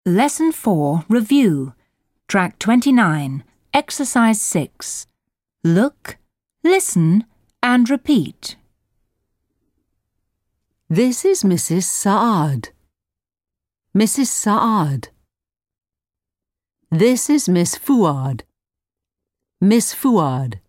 Lesson 4 Review Track 29 Exercise 6 Look, listen and repeat. This is Mrs. Saad. Mrs. Saad. This is Miss Fuad. Miss Fuad.